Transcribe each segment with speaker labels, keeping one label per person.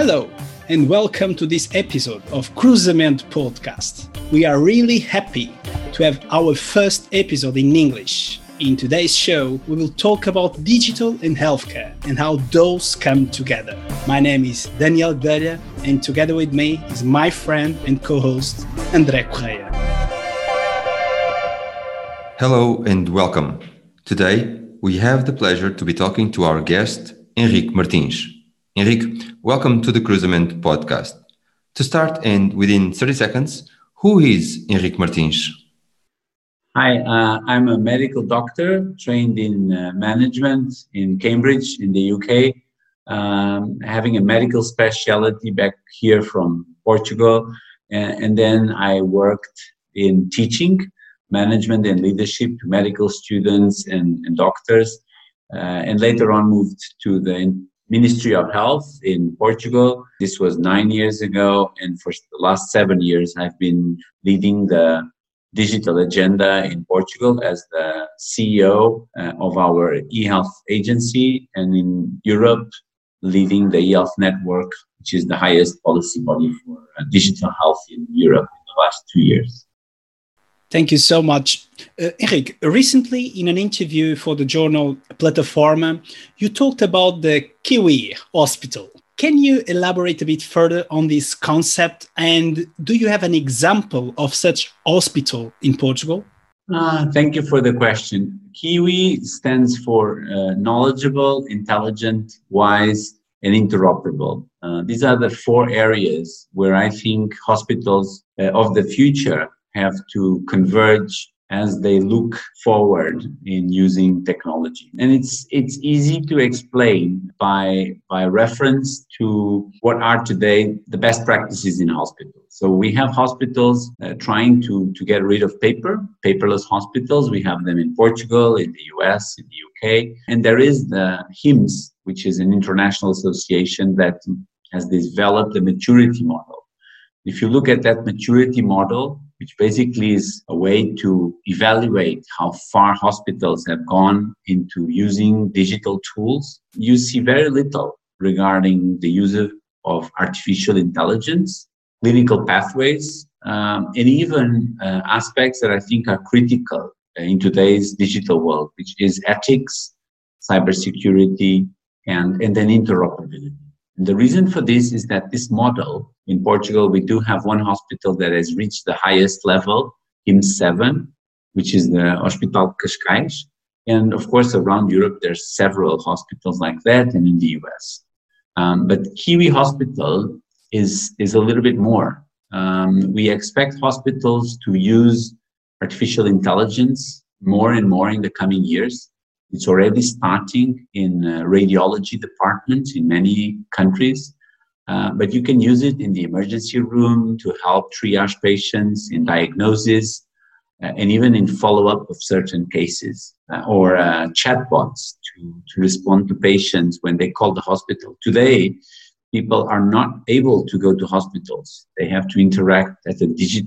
Speaker 1: Hello, and welcome to this episode of Cruzamento Podcast. We are really happy to have our first episode in English. In today's show, we will talk about digital and healthcare and how those come together. My name is Daniel Guerra, and together with me is my friend and co-host, André Correia.
Speaker 2: Hello and welcome. Today, we have the pleasure to be talking to our guest, Henrique Martins. Henrique, welcome to the Cruzamento Podcast. To start, and within 30 seconds, who is Henrique Martins?
Speaker 3: Hi, I'm a medical doctor trained in management in Cambridge in the UK, having a medical specialty back here from Portugal. And then I worked in teaching, management and leadership to medical students and doctors. And later on moved to the Ministry of Health in Portugal. This was 9 years ago. And for the last 7 years, I've been leading the digital agenda in Portugal as the CEO of our eHealth agency, and in Europe, leading the eHealth network, which is the highest policy body for digital health in Europe in the last 2 years.
Speaker 1: Thank you so much. Henrique, recently in an interview for the journal Plataforma, you talked about the Kiwi Hospital. Can you elaborate a bit further on this concept? And do you have an example of such hospital in Portugal?
Speaker 3: Thank you for the question. Kiwi stands for knowledgeable, intelligent, wise, and interoperable. These are the 4 areas where I think hospitals of the future have to converge as they look forward in using technology. And it's easy to explain by reference to what are today the best practices in hospitals. So we have hospitals trying to get rid of paperless hospitals. We have them in Portugal, in the US, in the UK. And there is the HIMSS, which is an international association that has developed a maturity model. If you look at that maturity model, which basically is a way to evaluate how far hospitals have gone into using digital tools, you see very little regarding the use of artificial intelligence, clinical pathways, and even aspects that I think are critical in today's digital world, which is ethics, cybersecurity, and then interoperability. And the reason for this is that this model, in Portugal, we do have one hospital that has reached the highest level, HIMSS 7, which is the Hospital Cascais. And of course, around Europe, there's several hospitals like that, and in the US. But Kiwi Hospital is a little bit more. We expect hospitals to use artificial intelligence more and more in the coming years. It's already starting in radiology departments in many countries, but you can use it in the emergency room to help triage patients in diagnosis and even in follow-up of certain cases, or chatbots to respond to patients when they call the hospital. Today, people are not able to go to hospitals. They have to interact in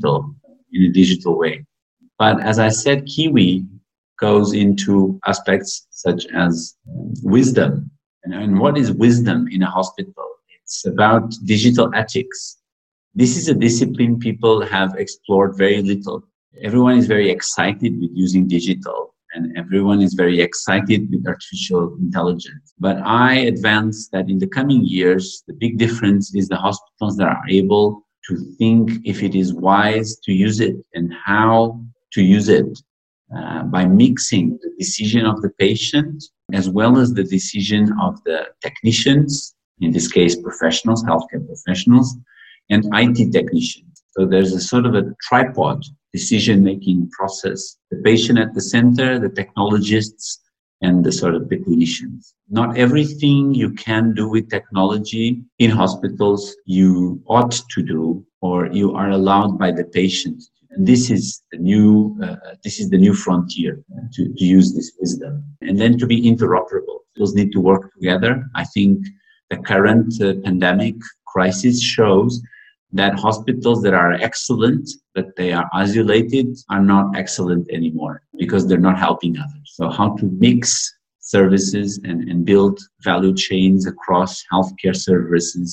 Speaker 3: a digital way. But as I said, Kiwi goes into aspects such as wisdom. And what is wisdom in a hospital? It's about digital ethics. This is a discipline people have explored very little. Everyone is very excited with using digital, and everyone is very excited with artificial intelligence. But I advance that in the coming years, the big difference is the hospitals that are able to think if it is wise to use it and how to use it. By mixing the decision of the patient as well as the decision of the technicians, in this case professionals, healthcare professionals, and IT technicians. So there's a sort of a tripod decision-making process. The patient at the center, the technologists, and the sort of the clinicians. Not everything you can do with technology in hospitals you ought to do or you are allowed by the patient. And this is the new frontier to use this wisdom. And then to be interoperable. Those need to work together. I think the current pandemic crisis shows that hospitals that are excellent, that they are isolated, are not excellent anymore because they're not helping others. So how to mix services and build value chains across healthcare services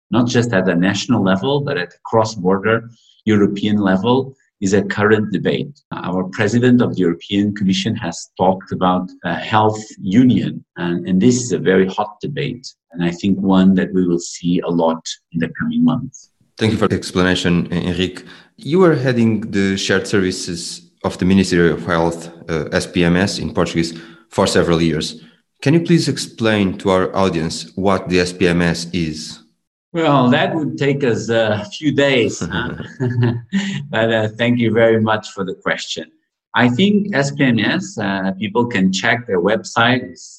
Speaker 3: not just at the national level, but at the cross-border European level, is a current debate. Our president of the European Commission has talked about a health union, and this is a very hot debate, and I think one that we will see a lot in the coming months.
Speaker 2: Thank you for the explanation, Henrique. You were heading the shared services of the Ministry of Health, SPMS in Portuguese, for several years. Can you please explain to our audience what the SPMS is?
Speaker 3: Well, that would take us a few days, but thank you very much for the question. I think SPMS, people can check their website, it's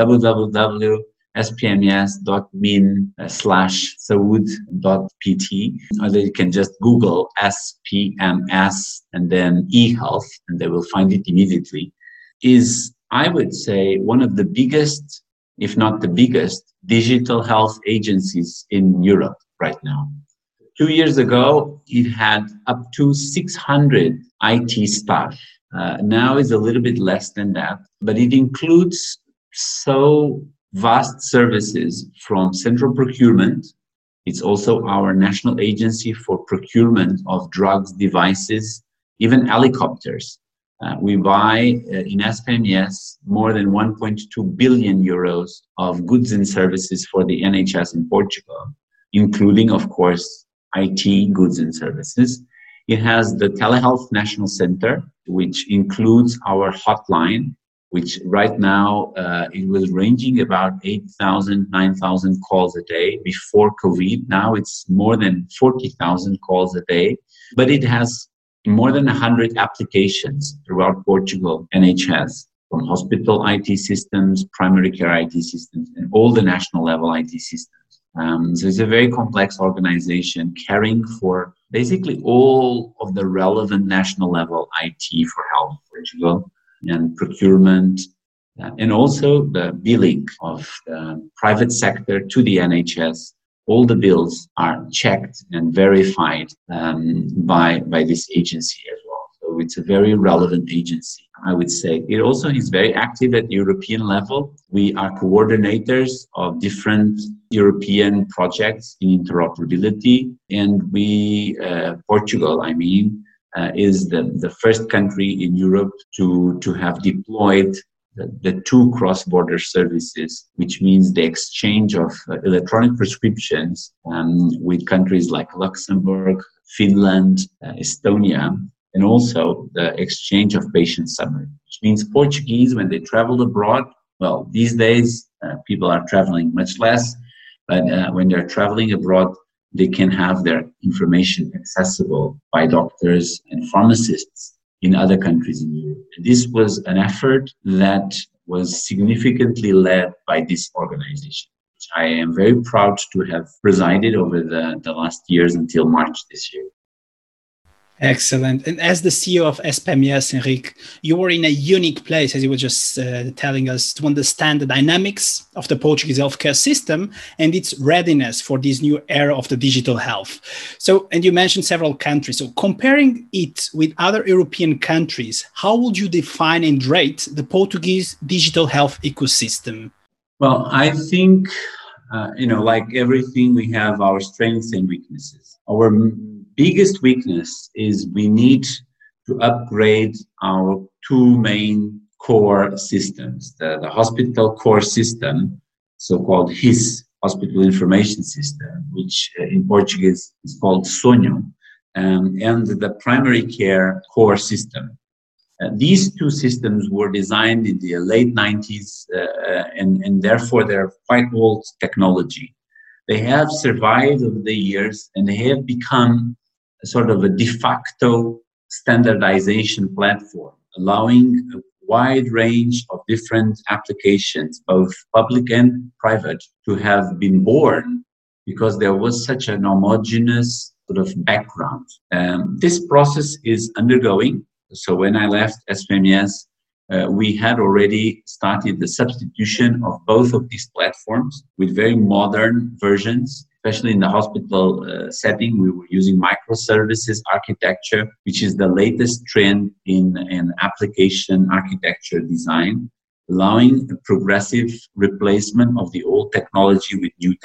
Speaker 3: www.spms.min/saud.pt, or they can just Google SPMS and then eHealth, and they will find it immediately. Is, I would say, one of the biggest, if not the biggest, digital health agencies in Europe right now. 2 years ago, it had up to 600 IT staff. Now it's a little bit less than that, but it includes so vast services from central procurement. It's also our national agency for procurement of drugs, devices, even helicopters. We buy in SPMS more than 1.2 billion euros of goods and services for the NHS in Portugal, including, of course, IT goods and services. It has the Telehealth National Center, which includes our hotline, which right now it was ranging about 8,000, 9,000 calls a day before COVID. Now it's more than 40,000 calls a day, but it has more than 100 applications throughout Portugal, NHS, from hospital IT systems, primary care IT systems, and all the national level IT systems. So it's a very complex organization caring for basically all of the relevant national level IT for health in Portugal, and procurement, and also the billing of the private sector to the NHS. All the bills are checked and verified by this agency as well. So it's a very relevant agency, I would say. It also is very active at the European level. We are coordinators of different European projects in interoperability. And Portugal, is the first country in Europe to have deployed the 2 cross-border services, which means the exchange of electronic prescriptions with countries like Luxembourg, Finland, Estonia, and also the exchange of patient summary, which means Portuguese, when they travel abroad, well, these days people are traveling much less, but when they're traveling abroad, they can have their information accessible by doctors and pharmacists in other countries in Europe. And this was an effort that was significantly led by this organization, which I am very proud to have presided over the last years until March this year.
Speaker 1: Excellent. And as the CEO of SPMS, Henrique, you were in a unique place, as you were just telling us, to understand the dynamics of the Portuguese healthcare system and its readiness for this new era of the digital health. So, and you mentioned several countries. So comparing it with other European countries, how would you define and rate the Portuguese digital health ecosystem?
Speaker 3: Well, I think, like everything, we have our strengths and weaknesses. Our biggest weakness is we need to upgrade our 2 main core systems. The hospital core system, so-called HIS, Hospital Information System, which in Portuguese is called Sonho, and the primary care core system. These 2 systems were designed in the late 90s, and therefore they're quite old technology. They have survived over the years, and they have become sort of a de facto standardization platform, allowing a wide range of different applications, both public and private, to have been born because there was such an homogeneous sort of background. This process is undergoing. So when I left SPMS, we had already started the substitution of both of these platforms with very modern versions. Especially in the hospital setting, we were using microservices architecture, which is the latest trend in application architecture design, allowing a progressive replacement of the old technology with new technology.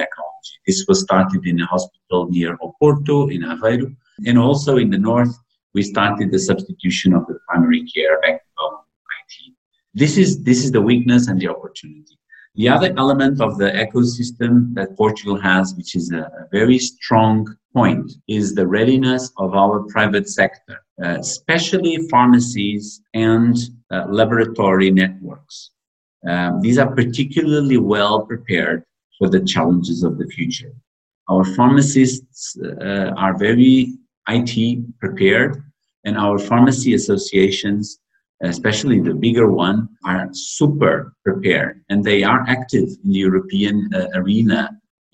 Speaker 3: technology. This was started in a hospital near Oporto in Aveiro. And also in the north, we started the substitution of the primary care backbone IT. This is the weakness and the opportunity. The other element of the ecosystem that Portugal has, which is a very strong point, is the readiness of our private sector, especially pharmacies and laboratory networks. These are particularly well prepared for the challenges of the future. Our pharmacists are very IT prepared, and our pharmacy associations, especially the bigger one, are super prepared, and they are active in the European arena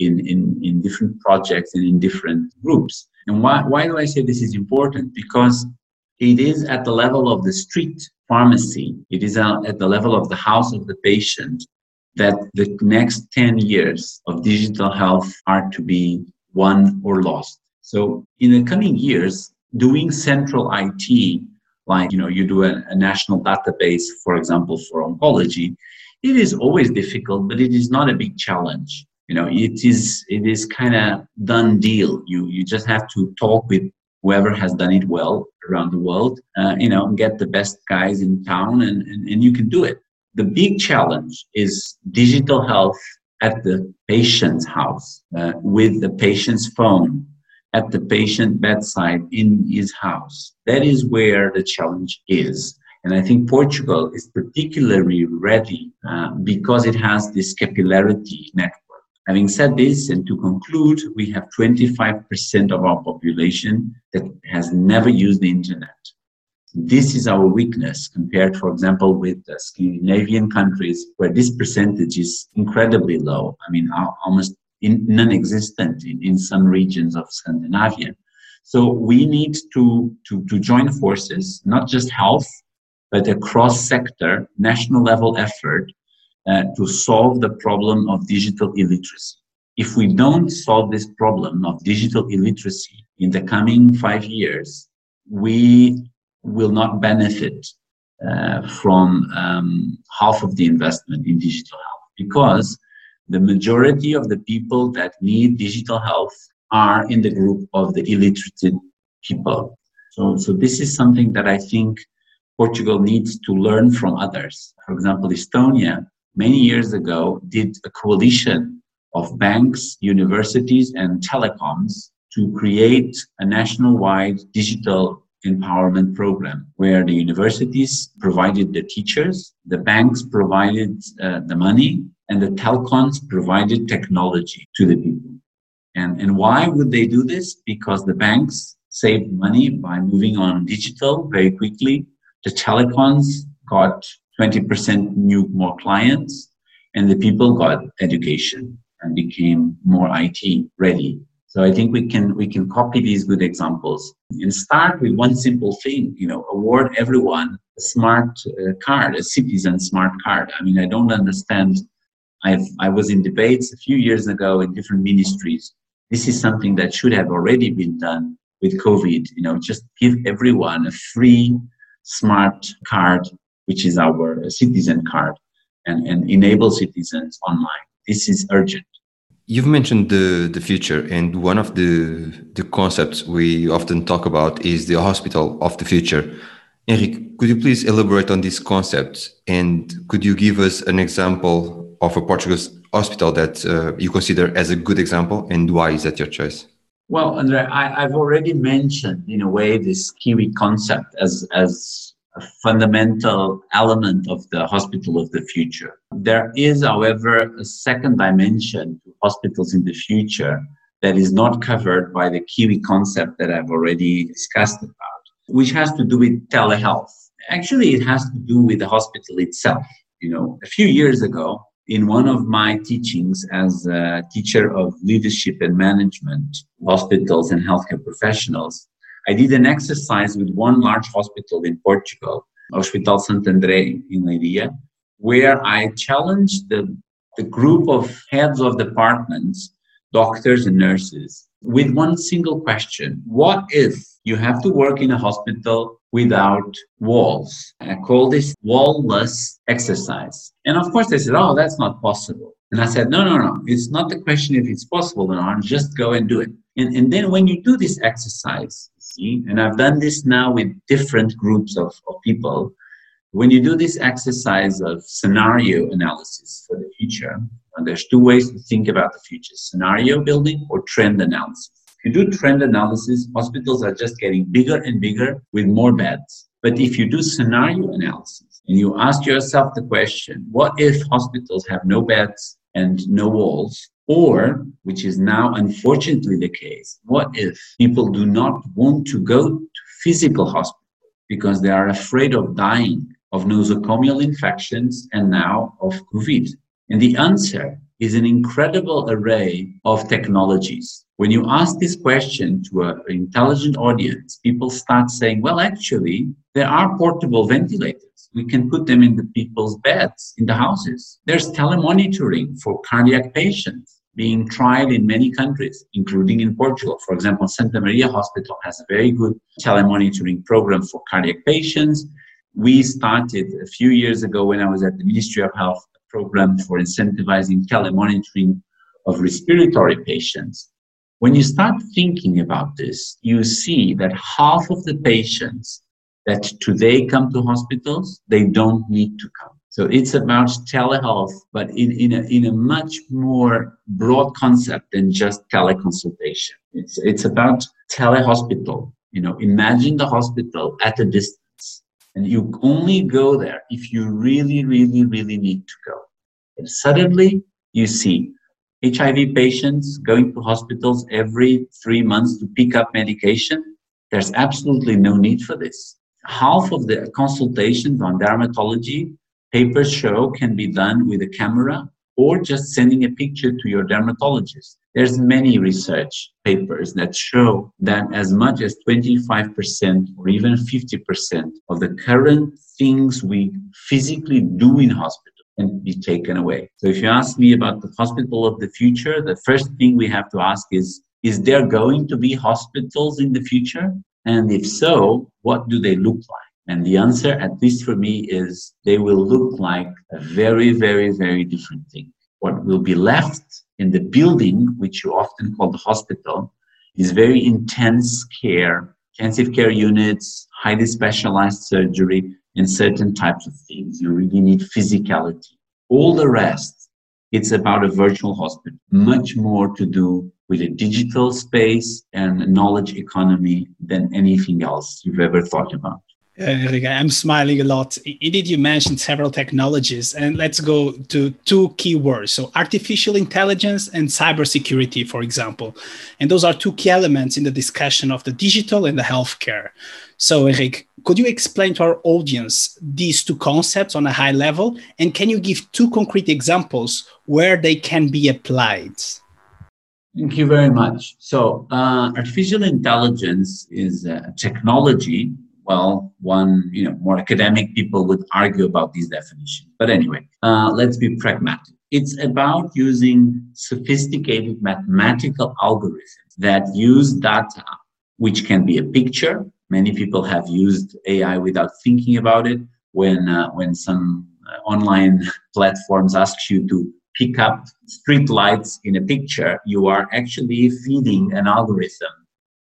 Speaker 3: in different projects and in different groups. And why do I say this is important? Because it is at the level of the street pharmacy, it is at the level of the house of the patient that the next 10 years of digital health are to be won or lost. So in the coming years, doing central IT, like, you do a national database, for example, for oncology, it is always difficult, but it is not a big challenge. It is kind of done deal. You just have to talk with whoever has done it well around the world, get the best guys in town, and you can do it. The big challenge is digital health at the patient's house, with the patient's phone, at the patient bedside in his house. That is where the challenge is. And I think Portugal is particularly ready because it has this capillarity network. Having said this, and to conclude, we have 25% of our population that has never used the internet. This is our weakness compared, for example, with the Scandinavian countries, where this percentage is incredibly low. I mean, almost non-existent in some regions of Scandinavia. So we need to join forces, not just health, but a cross-sector, national level effort to solve the problem of digital illiteracy. If we don't solve this problem of digital illiteracy in the coming 5 years, we will not benefit from half of the investment in digital health, because the majority of the people that need digital health are in the group of the illiterate people. So this is something that I think Portugal needs to learn from others. For example, Estonia, many years ago, did a coalition of banks, universities, and telecoms to create a national-wide digital empowerment program, where the universities provided the teachers, the banks provided the money, and the telecoms provided technology to the people. And why would they do this? Because the banks saved money by moving on digital very quickly. The telecoms got 20% more clients, and the people got education and became more IT ready. So I think we can copy these good examples and start with one simple thing, award everyone a smart card, a citizen smart card. I mean, I don't understand. I was in debates a few years ago in different ministries. This is something that should have already been done with COVID. Just give everyone a free smart card, which is our citizen card, and enable citizens online. This is urgent.
Speaker 2: You've mentioned the future, and one of the concepts we often talk about is the hospital of the future. Henrique, could you please elaborate on this concept, and could you give us an example of a Portuguese hospital that you consider as a good example, and why is that your choice?
Speaker 3: Well, Andre, I've already mentioned, in a way, this Kiwi concept as a fundamental element of the hospital of the future. There is, however, a second dimension to hospitals in the future that is not covered by the Kiwi concept that I've already discussed about, which has to do with telehealth. Actually, it has to do with the hospital itself. A few years ago, in one of my teachings as a teacher of leadership and management, hospitals and healthcare professionals, I did an exercise with one large hospital in Portugal, Hospital Sant André in Leiria, where I challenged the group of heads of departments, doctors and nurses, with one single question. What if You have to work in a hospital without walls. I call this wall-less exercise. And of course they said, oh, that's not possible. And I said, no. It's not the question if it's possible or not. Just go and do it. And then when you do this exercise, see, and I've done this now with different groups of people, when you do this exercise of scenario analysis for the future, and there's two ways to think about the future: scenario building or trend analysis. If you do trend analysis, hospitals are just getting bigger and bigger with more beds. But if you do scenario analysis and you ask yourself the question, what if hospitals have no beds and no walls? Or, which is now unfortunately the case, what if people do not want to go to physical hospitals because they are afraid of dying of nosocomial infections and now of COVID? And the answer is an incredible array of technologies. When you ask this question to an intelligent audience, people start saying, well, actually, there are portable ventilators. We can put them in the people's beds, in the houses. There's telemonitoring for cardiac patients being tried in many countries, including in Portugal. For example, Santa Maria Hospital has a very good telemonitoring program for cardiac patients. We started a few years ago when I was at the Ministry of Health, a program for incentivizing telemonitoring of respiratory patients. When you start thinking about this, you see that half of the patients that today come to hospitals, they don't need to come. So it's about telehealth, but in a much more broad concept than just teleconsultation. It's about telehospital. Imagine the hospital at a distance, and you only go there if you really, really, really need to go. And suddenly you see HIV patients going to hospitals every 3 months to pick up medication. There's absolutely no need for this. Half of the consultations on dermatology, papers show, can be done with a camera or just sending a picture to your dermatologist. There's many research papers that show that as much as 25% or even 50% of the current things we physically do in hospitals can be taken away. So if you ask me about the hospital of the future, the first thing we have to ask is there going to be hospitals in the future? And if so, what do they look like? And the answer, at least for me, is they will look like a very, very, very different thing. What will be left in the building, which you often call the hospital, is very intense care, intensive care units, highly specialized surgery, and certain types of things. You really need physicality. All the rest, it's about a virtual hospital, much more to do with a digital space and a knowledge economy than anything else you've ever thought about.
Speaker 1: Enrique, I'm smiling a lot. Indeed, you mentioned several technologies, and let's go to two key words. So artificial intelligence and cybersecurity, for example. And those are two key elements in the discussion of the digital and the healthcare. So Enrique, could you explain to our audience these two concepts on a high level? And can you give two concrete examples where they can be applied?
Speaker 3: Thank you very much. So artificial intelligence is a technology. Well, more academic people would argue about these definitions. But anyway, let's be pragmatic. It's about using sophisticated mathematical algorithms that use data, which can be a picture. Many people have used AI without thinking about it. When some online platforms ask you to pick up street lights in a picture, you are actually feeding an algorithm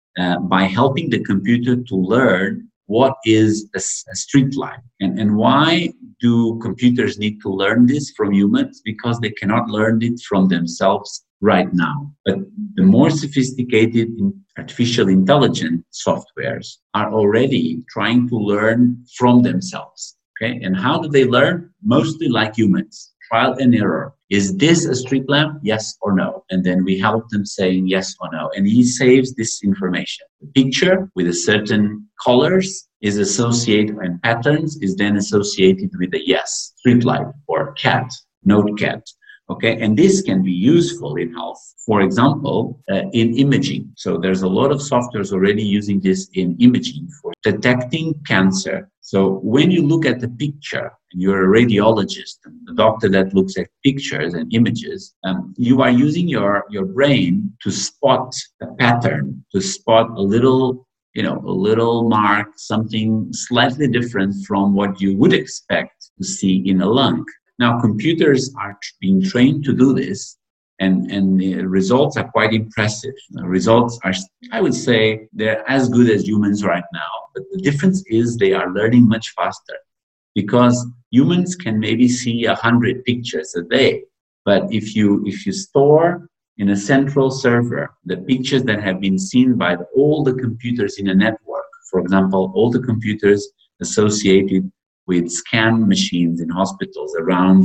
Speaker 3: by helping the computer to learn what is a street light. And why do computers need to learn this from humans? Because they cannot learn it from themselves right now. But the more sophisticated artificial intelligence softwares are already trying to learn from themselves. Okay, and how do they learn? Mostly like humans, trial and error. Is this a street lamp? Yes or no? And then we help them saying yes or no. And he saves this information. The picture with a certain colors is associated and patterns is then associated with a yes, street light or cat, note cat. Okay, and this can be useful in health. For example, in imaging. So there's a lot of softwares already using this in imaging for detecting cancer. So when you look at the picture, and you're a radiologist, a doctor that looks at pictures and images, you are using your brain to spot a pattern, to spot a little a little mark, something slightly different from what you would expect to see in a lung. Now, computers are being trained to do this, and the results are quite impressive. The results are, I would say, they're as good as humans right now. But the difference is they are learning much faster, because humans can maybe see 100 pictures a day. But if you store in a central server the pictures that have been seen by all the computers in a network, for example, all the computers associated with scan machines in hospitals around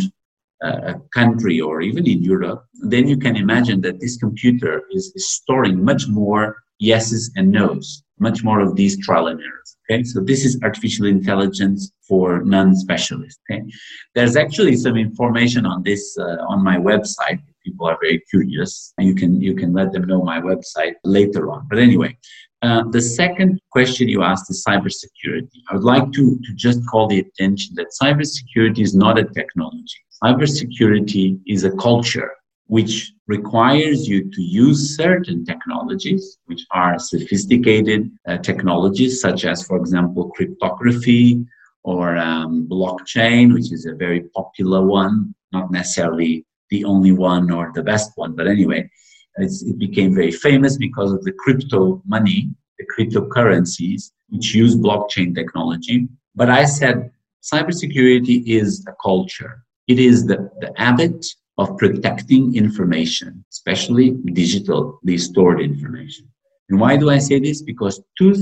Speaker 3: a country or even in Europe, then you can imagine that this computer is storing much more yeses and nos, much more of these trial and errors. Okay, so this is artificial intelligence for non-specialists. Okay, there's actually some information on this on my website. If people are very curious, you can let them know my website later on. But anyway, the second question you asked is cybersecurity. I would like to just call the attention that cybersecurity is not a technology. Cybersecurity is a culture which requires you to use certain technologies, which are sophisticated technologies, such as, for example, cryptography or blockchain, which is a very popular one, not necessarily the only one or the best one. But anyway, it became very famous because of the crypto money, the cryptocurrencies, which use blockchain technology. But I said cybersecurity is a culture. It is the habit of protecting information, especially digitally stored information. And why do I say this? Because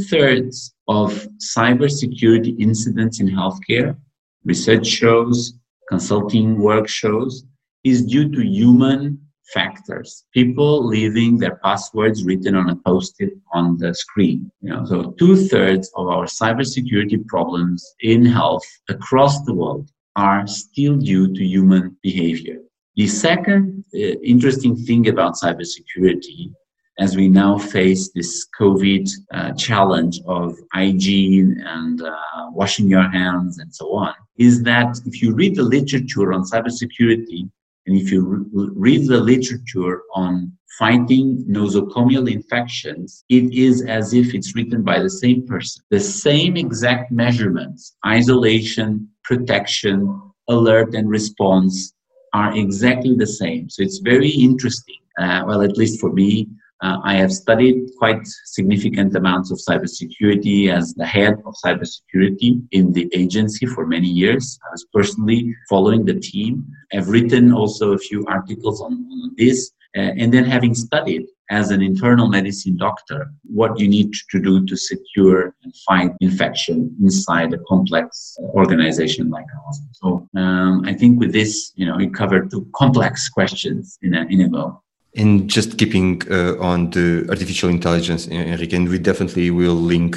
Speaker 3: 2/3 of cybersecurity incidents in healthcare, research shows, consulting work shows, is due to human factors. People leaving their passwords written on a post-it on the screen. So 2/3 of our cybersecurity problems in health across the world are still due to human behavior. The second interesting thing about cybersecurity, as we now face this COVID challenge of hygiene and washing your hands and so on, is that if you read the literature on cybersecurity, and if you read the literature on fighting nosocomial infections, it is as if it's written by the same person. The same exact measurements, isolation, protection, alert, and response are exactly the same. So it's very interesting. Well, at least for me, I have studied quite significant amounts of cybersecurity as the head of cybersecurity in the agency for many years. I was personally following the team. I've written also a few articles on this. And then having studied as an internal medicine doctor what you need to do to secure and fight infection inside a complex organization like a hospital. So I think with this, we covered two complex questions in a go.
Speaker 2: And just keeping on the artificial intelligence, Enrique, and we definitely will link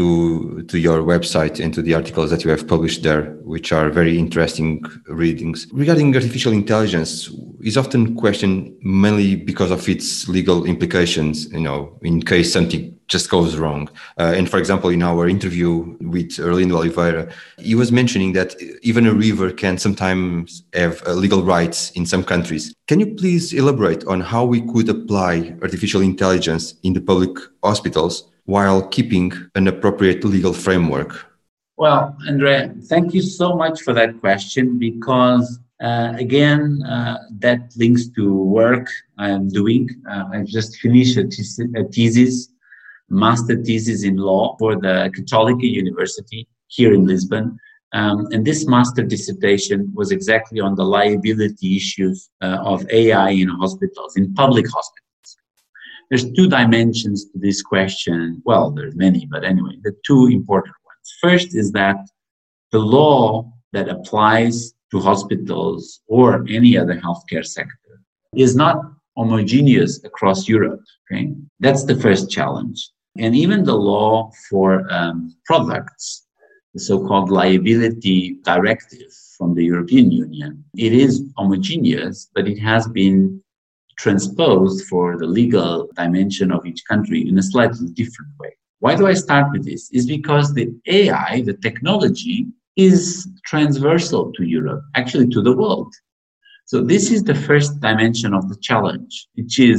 Speaker 2: to your website and to the articles that you have published there, which are very interesting readings. Regarding artificial intelligence, is often questioned mainly because of its legal implications, in case something just goes wrong. And for example, in our interview with Erlindo Oliveira, he was mentioning that even a river can sometimes have legal rights in some countries. Can you please elaborate on how we could apply artificial intelligence in the public hospitals while keeping an appropriate legal framework?
Speaker 3: Well, Andre, thank you so much for that question, because again, that links to work I'm doing. I've just finished a thesis, master thesis in law for the Católica University here in Lisbon. And this master dissertation was exactly on the liability issues of AI in hospitals, in public hospitals. There's two dimensions to this question. Well, there's many, but anyway, the two important ones. First is that the law that applies to hospitals or any other healthcare sector is not homogeneous across Europe. Okay? That's the first challenge. And even the law for products, the so-called liability directive from the European Union, it is homogeneous, but it has been transposed for the legal dimension of each country in a slightly different way. Why do I start with this? Is because the AI, the technology, is transversal to Europe, actually to the world. So this is the first dimension of the challenge, which is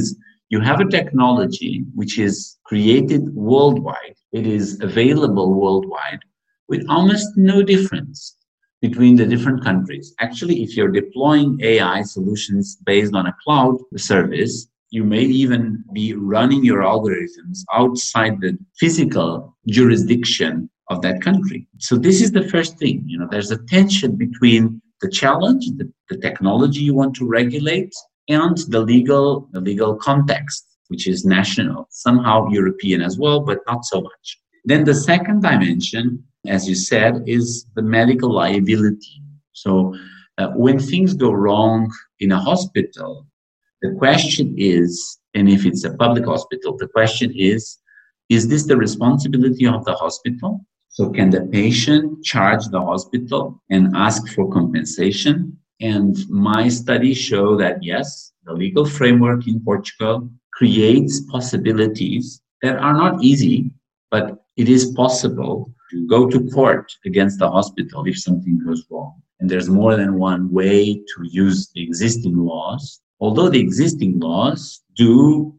Speaker 3: You have a technology which is created worldwide. It is available worldwide with almost no difference between the different countries. Actually, if you're deploying AI solutions based on a cloud service, you may even be running your algorithms outside the physical jurisdiction of that country. So this is the first thing. There's a tension between the challenge, the technology you want to regulate, and the legal context, which is national, somehow European as well, but not so much. Then the second dimension, as you said, is the medical liability. So when things go wrong in a hospital, the question is, and if it's a public hospital, the question is this the responsibility of the hospital? So can the patient charge the hospital and ask for compensation? And my studies show that yes, the legal framework in Portugal creates possibilities that are not easy, but it is possible to go to court against the hospital if something goes wrong. And there's more than one way to use the existing laws, although the existing laws do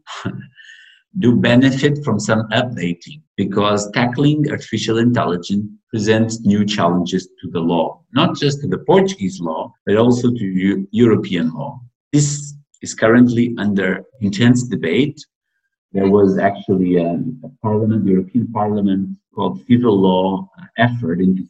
Speaker 3: benefit from some updating, because tackling artificial intelligence presents new challenges to the law, not just to the Portuguese law, but also to European law. This is currently under intense debate. There was actually a European Parliament called Civil Law effort in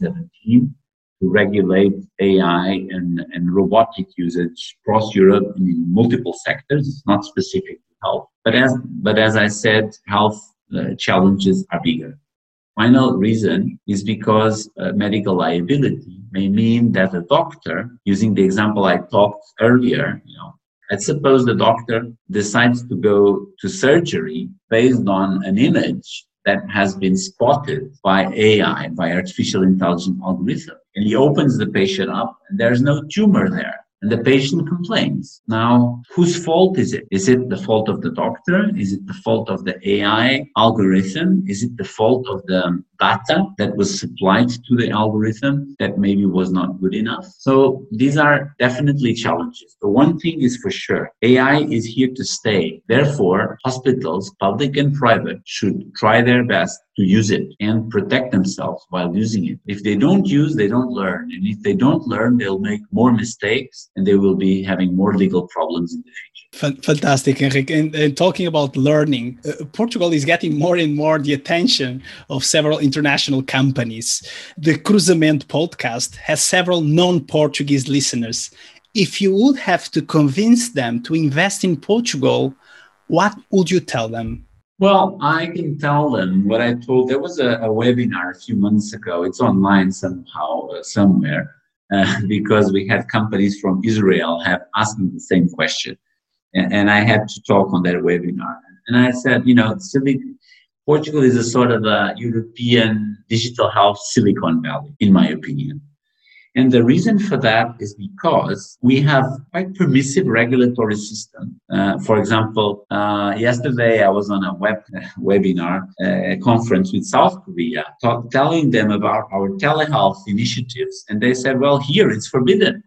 Speaker 3: 2017 to regulate AI and robotic usage across Europe in multiple sectors. It's not specific to health. But as I said, health challenges are bigger. Final reason is because medical liability may mean that a doctor, using the example I talked earlier, let's suppose the doctor decides to go to surgery based on an image that has been spotted by AI, by artificial intelligence algorithm. And he opens the patient up and there's no tumor there. And the patient complains. Now, whose fault is it? Is it the fault of the doctor? Is it the fault of the AI algorithm? Is it the fault of the data that was supplied to the algorithm that maybe was not good enough? So these are definitely challenges. The one thing is for sure, AI is here to stay. Therefore, hospitals, public and private, should try their best to use it and protect themselves while using it. If they don't use, they don't learn. And if they don't learn, they'll make more mistakes and they will be having more legal problems in the future.
Speaker 1: Fantastic, Henrique. And talking about learning, Portugal is getting more and more the attention of several international companies. The Cruzamento podcast has several non-Portuguese listeners. If you would have to convince them to invest in Portugal, what would you tell them?
Speaker 3: Well, I can tell them what I told. There was a webinar a few months ago. It's online somehow, somewhere, because we had companies from Israel asking the same question. And I had to talk on that webinar. And I said, Portugal is a sort of a European digital health Silicon Valley, in my opinion. And the reason for that is because we have quite permissive regulatory system. For example, yesterday I was on a webinar conference with South Korea, telling them about our telehealth initiatives. And they said, well, here it's forbidden.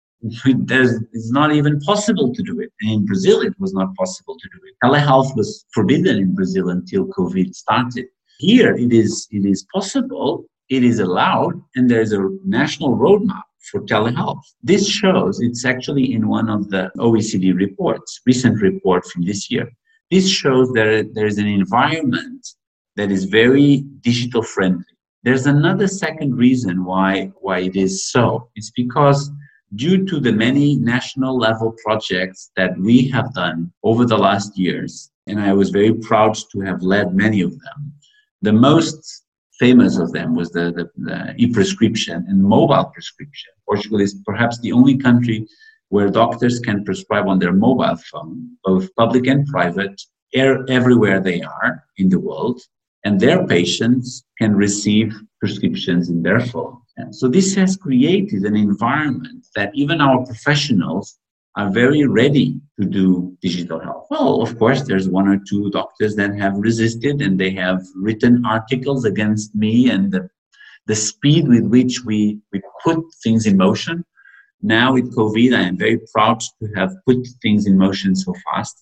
Speaker 3: It's not even possible to do it. And in Brazil, it was not possible to do it. Telehealth was forbidden in Brazil until COVID started. Here, it is possible. It is allowed, and there's a national roadmap for telehealth. This shows, it's actually in one of the OECD reports, recent report from this year. This shows that there's an environment that is very digital friendly. There's another second reason why it is so. It's because due to the many national level projects that we have done over the last years, and I was very proud to have led many of them, the most famous of them was the e-prescription and mobile prescription. Portugal is perhaps the only country where doctors can prescribe on their mobile phone, both public and private, everywhere they are in the world, and their patients can receive prescriptions in their phone. And so this has created an environment that even our professionals are very ready to do digital health. Well, of course, there's one or two doctors that have resisted and they have written articles against me and the speed with which we put things in motion. Now with COVID, I am very proud to have put things in motion so fast.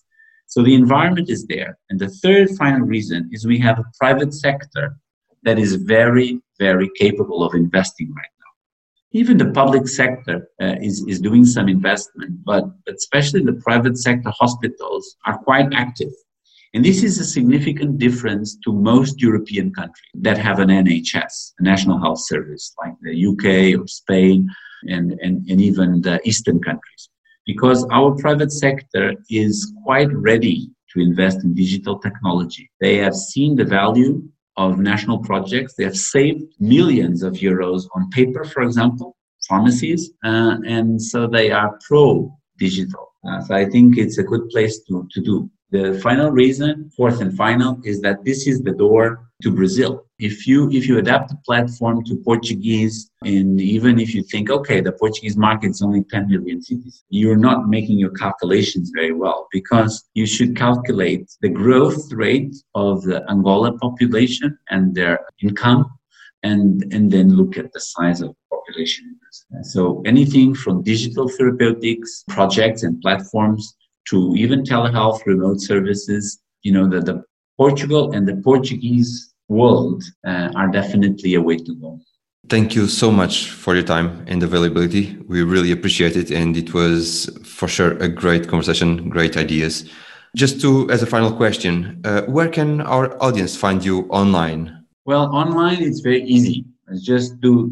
Speaker 3: So the environment is there. And the third final reason is we have a private sector that is very, very capable of investing right now. Even the public sector is doing some investment, but especially the private sector hospitals are quite active. And this is a significant difference to most European countries that have an NHS, a National Health Service, like the UK or Spain and even the Eastern countries. Because our private sector is quite ready to invest in digital technology. They have seen the value of national projects. They have saved millions of euros on paper, for example, pharmacies, and so they are pro-digital. So I think it's a good place to do. The final reason, fourth and final, is that this is the door to Brazil. If you adapt the platform to Portuguese, and even if you think, okay, the Portuguese market is only 10 million cities, you're not making your calculations very well, because you should calculate the growth rate of the Angola population and their income, and then look at the size of the population. So anything from digital therapeutics, projects and platforms, to even telehealth, remote services, the Portugal and the Portuguese world are definitely a way to go.
Speaker 2: Thank you so much for your time and availability. We really appreciate it. And it was for sure a great conversation, great ideas. Just as a final question, where can our audience find you online?
Speaker 3: Well, online, it's very easy. Just do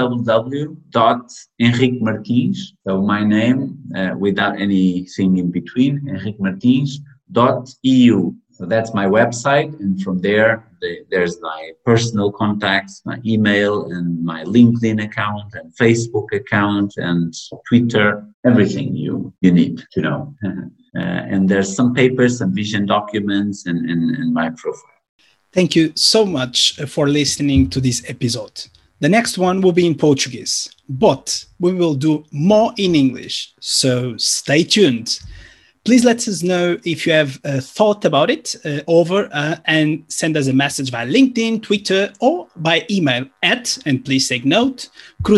Speaker 3: www.henriquemartins, so my name without anything in between, henriquemartins.eu. So that's my website, and from there, there's my personal contacts, my email, and my LinkedIn account, and Facebook account, and Twitter, everything you need to know. And there's some papers, some vision documents, and my profile.
Speaker 1: Thank you so much for listening to this episode. The next one will be in Portuguese, but we will do more in English, so stay tuned. Please let us know if you have thought about it and send us a message via LinkedIn, Twitter, or by email and please take note,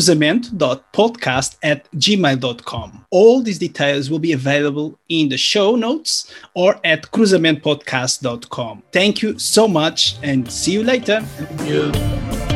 Speaker 1: cruzamento.podcast@gmail.com. All these details will be available in the show notes or at cruzamentopodcast.com. Thank you so much and see you later.
Speaker 3: Thank you.